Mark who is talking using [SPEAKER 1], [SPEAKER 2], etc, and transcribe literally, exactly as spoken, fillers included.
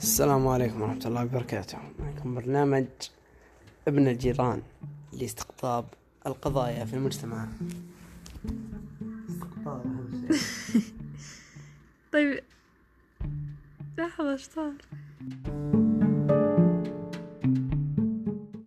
[SPEAKER 1] السلام عليكم ورحمة الله وبركاته. معكم برنامج ابن الجيران لاستقطاب القضايا في المجتمع.
[SPEAKER 2] طيب لحظة، اشطار.